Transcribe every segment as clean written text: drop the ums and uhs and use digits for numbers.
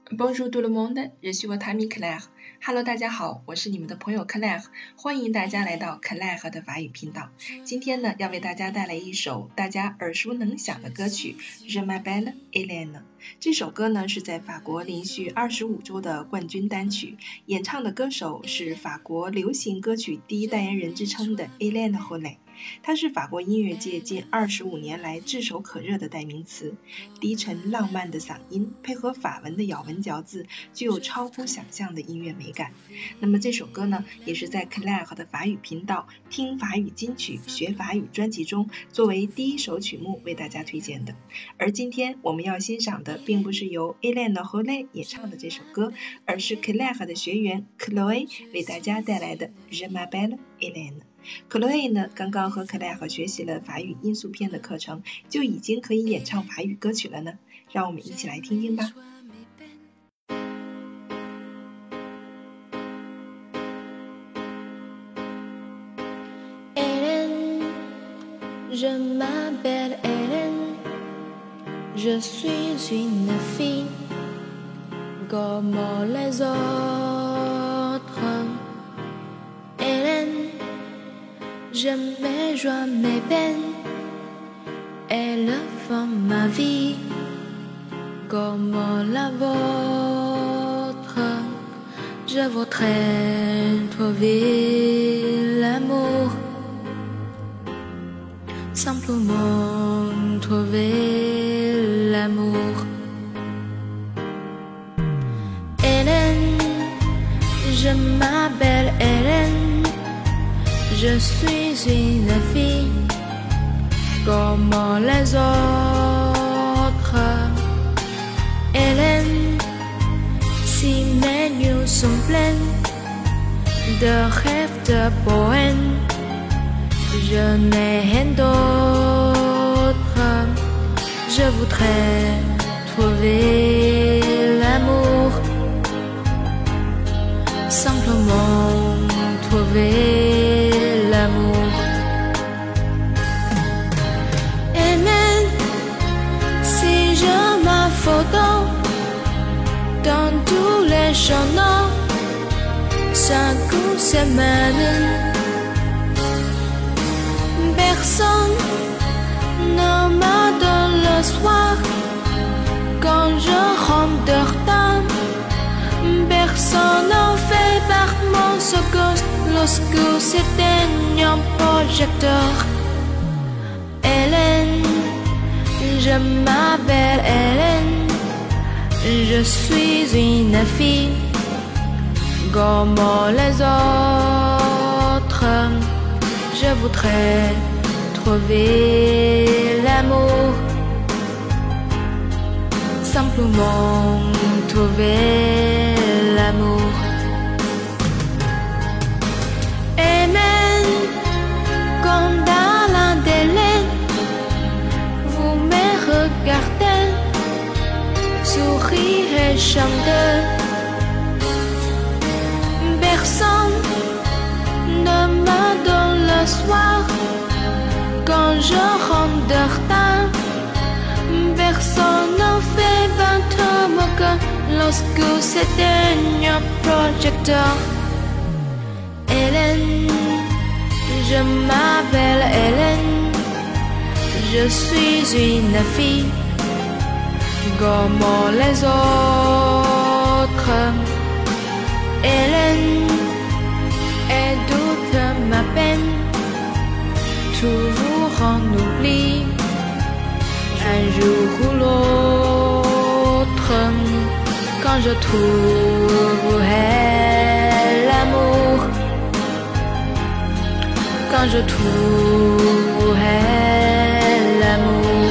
Bonjour tout le monde, je suis votre ami Claire。Hello， 大家好，我是你们的朋友 Claire， 欢迎大家来到 Claire 的法语频道。今天呢，要为大家带来一首大家耳熟能详的歌曲 Je m'appelle Hélène。这首歌呢是在法国连续25周的冠军单曲，演唱的歌手是法国流行歌曲第一代言人之称的 Hélène Rolet。他是法国音乐界近25年来炙手可热的代名词，低沉浪漫的嗓音配合法文的咬文嚼字，具有超乎想象的音乐美感。那么这首歌呢，也是在 Claire 的法语频道听法语金曲学法语专辑中作为第一首曲目为大家推荐的。而今天我们要欣赏的并不是由 Hélène Rolet 演唱的这首歌，而是 Claire 的学员 Chloé 为大家带来的 Je m'appelle Hélène。Chloé 呢，刚刚和 Claire 学习了法语音速片的课程，就已经可以演唱法语歌曲了呢。让我们一起来听听吧。 Hélène, je m'appelle Hélène, je suis une fille comme les autres.J'aime mes joies, mes peines, elles font ma vie comme la vôtre. Je voudrais trouver l'amour, simplement trouver l'amour. Hélène, je m'appelle Hélène.Je suis une fille comme les autres. Hélène, si mes nuits sont pleines de rêves, de poèmes, je n'ai rien d'autre. Je voudrais trouver l'amour, simplement trouver.L'amour. Et même si je ma photo dans tous les journaux, 5 semaines, personne ne me donne le soir quand je rentre de retard. Personne ne fait par mon secours.Lorsque s'éteigne un projecteur. Hélène, je m'appelle Hélène, je suis une fille comme les autres. Je voudrais trouver l'amour, simplement trouver l'amour.Et même quand dans la télé vous me regardez, sourire et chanter, personne ne me donne le soir quand je rentre de retard. Personne ne fait battre mon cœur lorsque s'éteigne un projecteur.Hélène, je m'appelle Hélène, je suis une fille comme les autres. Hélène, et toute ma peine, toujours en oubli, un jour ou l'autre, quand je trouverai l'amour.Quand je trouverai l'amour,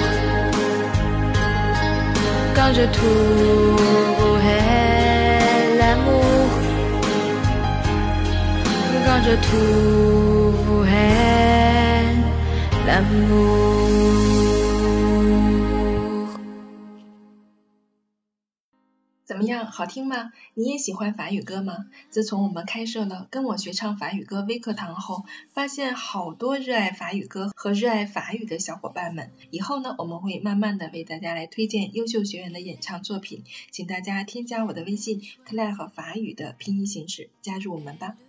quand je trouverai l'amour, quand je trouverai l'amour. 怎么样，好听吗？你也喜欢法语歌吗？自从我们开设了跟我学唱法语歌微课堂后，发现好多热爱法语歌和热爱法语的小伙伴们。以后呢，我们会慢慢的为大家来推荐优秀学员的演唱作品，请大家添加我的微信 Claire 和法语的拼音形式，加入我们吧。